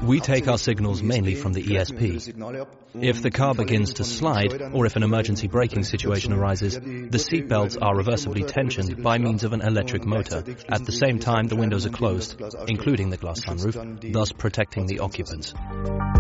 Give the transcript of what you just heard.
We take our signals mainly from the ESP. If the car begins to slide, or if an emergency braking situation arises, the seatbelts are reversibly tensioned by means of an electric motor. At the same time, the windows are closed, including the glass sunroof, thus protecting the occupants.